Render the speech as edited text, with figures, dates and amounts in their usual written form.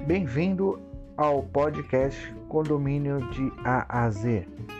Bem-vindo ao podcast Condomínio de A a Z.